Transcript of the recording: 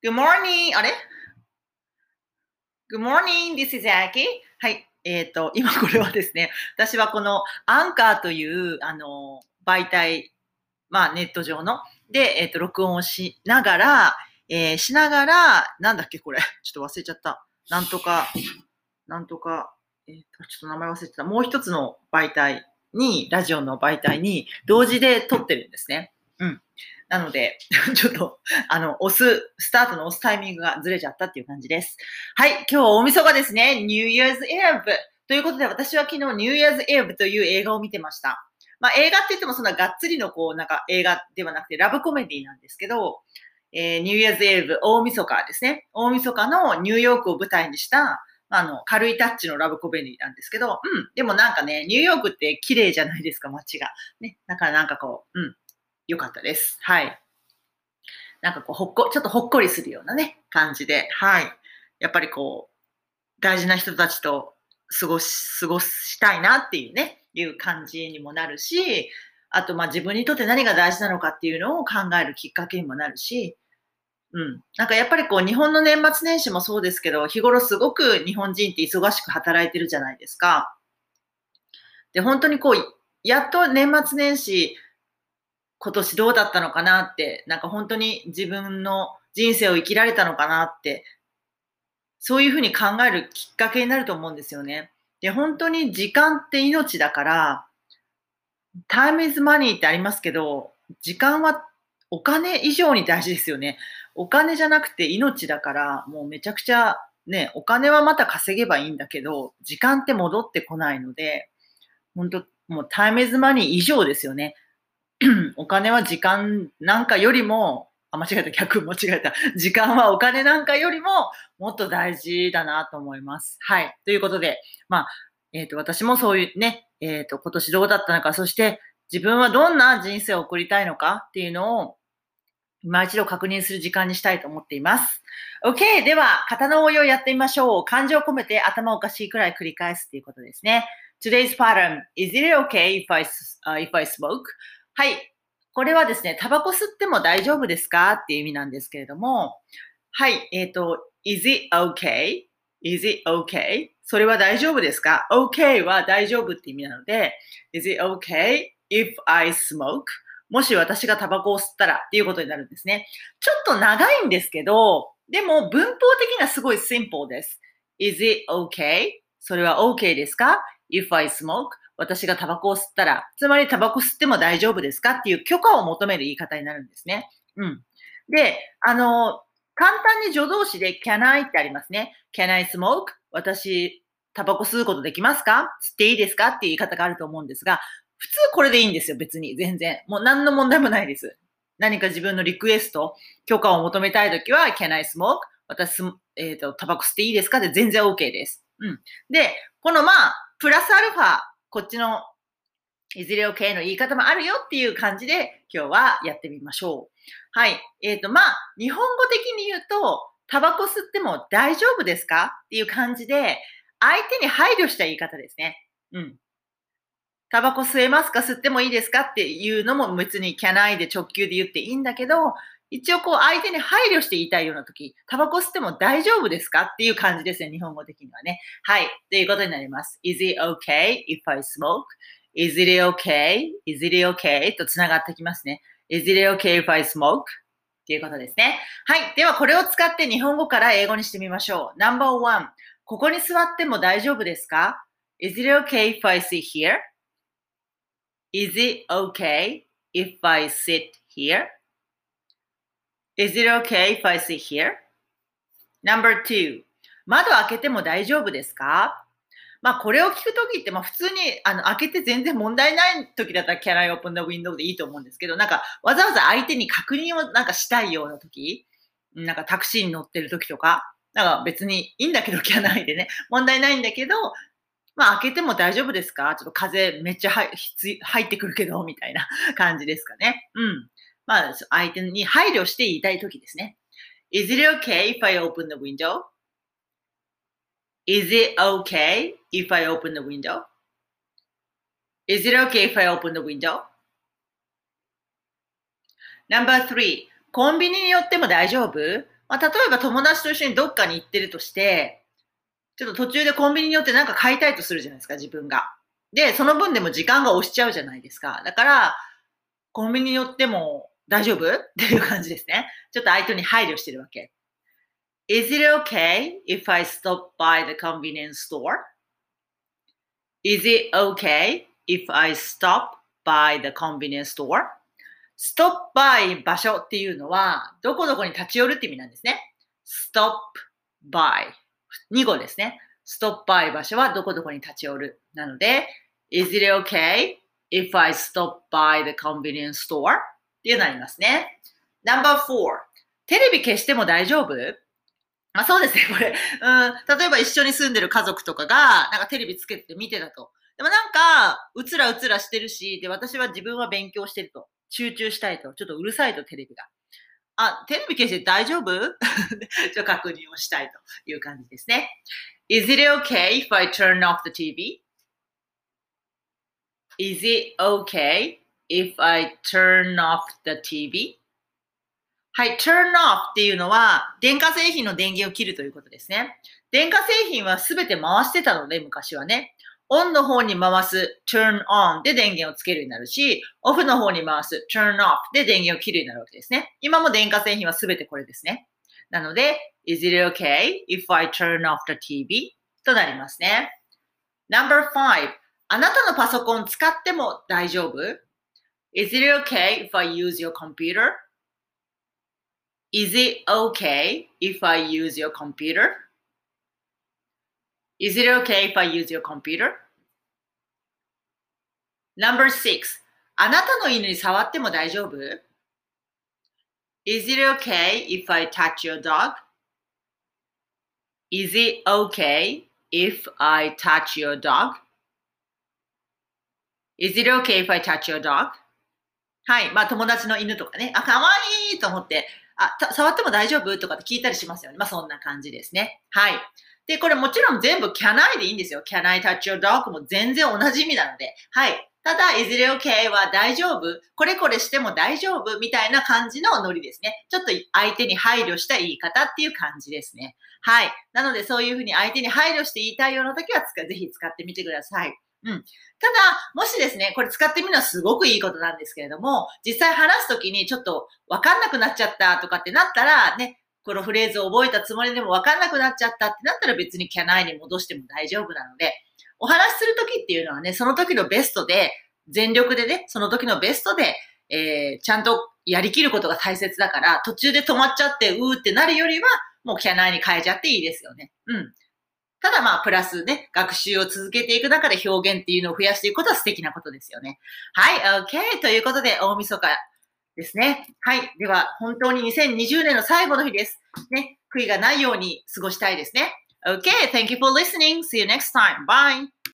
Good morning! あれ ?Good morning! This is Aki. はい。今これはですね、私はこのアンカーという、媒体、まあネット上の、で、録音をしながら、なんだっけこれ。ちょっと忘れちゃった。なんとか、ちょっと名前忘れてた。もう一つの媒体に、ラジオの媒体に、同時で撮ってるんですね。うん。なので、ちょっと、スタートの押すタイミングがずれちゃったっていう感じです。はい、今日は大晦日ですね。New Year's Eve。ということで、私は昨日 New Year's Eve という映画を見てました。まあ、映画って言ってもそんながっつりのなんか映画ではなくて、ラブコメディなんですけど、New Year's Eve、大晦日ですね。大晦日のニューヨークを舞台にした、軽いタッチのラブコメディなんですけど、でもなんかね、ニューヨークって綺麗じゃないですか、街が。ね、だからなんか良かったです。はい。なんかちょっとほっこりするようなね、感じで、はい。やっぱり大事な人たちと過ごしたいなっていうね、いう感じにもなるし、あと、自分にとって何が大事なのかっていうのを考えるきっかけにもなるし、なんかやっぱり日本の年末年始もそうですけど、日頃すごく日本人って忙しく働いてるじゃないですか。で、本当にやっと年末年始、今年どうだったのかなって、なんか本当に自分の人生を生きられたのかなって、そういうふうに考えるきっかけになると思うんですよね。で、本当に時間って命だから、タイムイズマニーってありますけど、時間はお金以上に大事ですよね。お金じゃなくて命だから、もうめちゃくちゃね、お金はまた稼げばいいんだけど、時間って戻ってこないので、本当もうタイムイズマニー以上ですよね。お金は時間なんかよりも、間違えた、間違えた。時間はお金なんかよりももっと大事だなと思います。はい。ということで、私もそういうね、今年どうだったのか、そして自分はどんな人生を送りたいのかっていうのを、今一度確認する時間にしたいと思っています。OK! では、型の応用をやってみましょう。感情を込めて頭おかしいくらい繰り返すっていうことですね。Today's pattern. Is it okay if I smoke? はい。これはですね、タバコ吸っても大丈夫ですかっていう意味なんですけれども、はい。is it okay? Is it okay? それは大丈夫ですか？ ?okay は大丈夫って意味なので、Is it okay if I smoke? もし私がタバコを吸ったらっていうことになるんですね。ちょっと長いんですけど、でも文法的にはすごいシンプルです。Is it okay? それは OK ですか？ If I smoke? 私がタバコを吸ったら、つまりタバコ吸っても大丈夫ですかっていう許可を求める言い方になるんですね。うん。で、簡単に助動詞で can I ってありますね。can I smoke? 私、タバコ吸うことできますか？吸っていいですかっていう言い方があると思うんですが、普通これでいいんですよ、別に。全然。もう何の問題もないです。何か自分のリクエスト、許可を求めたいときは、can I smoke? 私、タバコ吸っていいですかで全然 OK です。うん。で、プラスアルファ、こっちのいずれ OK の言い方もあるよっていう感じで今日はやってみましょう。はい。日本語的に言うと、タバコ吸っても大丈夫ですかっていう感じで、相手に配慮した言い方ですね。うん。タバコ吸えますか吸ってもいいですかっていうのも別に can I で直球で言っていいんだけど、一応相手に配慮して言いたいような時、タバコ吸っても大丈夫ですかっていう感じですね、日本語的にはね。はい。ということになります。Is it okay if I smoke? Is it okay? Is it okay? と繋がってきますね。Is it okay if I smoke? っていうことですね。はい。ではこれを使って日本語から英語にしてみましょう。No.1 ここに座っても大丈夫ですか？ Is it okay if I sit here? Is it okay if I sit here? Is it okay if I sit here? No.2 窓開けても大丈夫ですか？これを聞くときって、普通に、開けて全然問題ないときだったら Can I open the window でいいと思うんですけど、なんか、わざわざ相手に確認をなんかしたいようなとき、なんかタクシーに乗ってるときとか、なんか別にいいんだけど、Can I でね、問題ないんだけど、開けても大丈夫ですか？ちょっと風めっちゃ入ってくるけど、みたいな感じですかね。うん。相手に配慮して言いたいときですね。Is it okay if I open the window? Is it okay if I open the window? Is it okay if I open the window? No.3 コンビニに寄っても大丈夫？ まあ、例えば友達と一緒にどっかに行ってるとして、ちょっと途中でコンビニに寄ってなんか買いたいとするじゃないですか、自分が。で、その分でも時間が押しちゃうじゃないですか。だから、コンビニに寄っても大丈夫っていう感じですね。ちょっと相手に配慮してるわけ。Is it okay if I stop by the convenience store? Is it okay if I stop by the convenience store? stop by 場所っていうのは、どこどこに立ち寄るって意味なんですね。stop by 2語ですね。stop by 場所はどこどこに立ち寄る。なので、is it okay if I stop by the convenience store? っていうのになりますね。No.4 テレビ消しても大丈夫？そうですね、これ。例えば一緒に住んでる家族とかが、なんかテレビつけて見てたと。でもなんか、うつらうつらしてるし、で、私は自分は勉強してると。集中したいと。ちょっとうるさいと、テレビが。テレビ消して大丈夫？ちょっと確認をしたいという感じですね。Is it okay if I turn off the TV? Is it okay if I turn off the TV? はい、turn off っていうのは、電化製品の電源を切るということですね。電化製品はすべて回してたので、昔はね。オンの方に回す turn on で電源をつけるようになるし、オフの方に回す turn off で電源を切るようになるわけですね。今も電化製品はすべてこれですね。なので、is it okay if I turn off the TV? となりますね。No.5 あなたのパソコン使っても大丈夫？ Is it okay if I use your computer?Is it okay if I use your computer? Is it okay if I use your computer? No.6 あなたの犬に触っても大丈夫？ Is it okay if I touch your dog? Is it okay if I touch your dog? Is it okay if I touch your dog? はい。まあ友達の犬とかね、かわいいと思って、触っても大丈夫とかって聞いたりしますよね。まあそんな感じですね。はい。で、これもちろん全部 can I でいいんですよ。can I touch your dog も全然同じ意味なので。はい。ただ、is it okay は大丈夫これこれしても大丈夫みたいな感じのノリですね。ちょっと相手に配慮した言い方っていう感じですね。はい。なのでそういうふうに相手に配慮して言いたいような時はぜひ使ってみてください。ただ、もしですね、これ使ってみるのはすごくいいことなんですけれども、実際話すときにちょっとわかんなくなっちゃったとかってなったら、ね、このフレーズを覚えたつもりでもわかんなくなっちゃったってなったら別に can I に戻しても大丈夫なので、お話しするときっていうのはね、その時のベストで、全力でね、その時のベストで、ちゃんとやりきることが大切だから、途中で止まっちゃって、うーってなるよりは、もう can I に変えちゃっていいですよね。ただまあ、プラスね、学習を続けていく中で表現っていうのを増やしていくことは素敵なことですよね。はい、OK。ということで、大晦日ですね。はい。では、本当に2020年の最後の日です。ね、悔いがないように過ごしたいですね。OK。Thank you for listening. See you next time. Bye.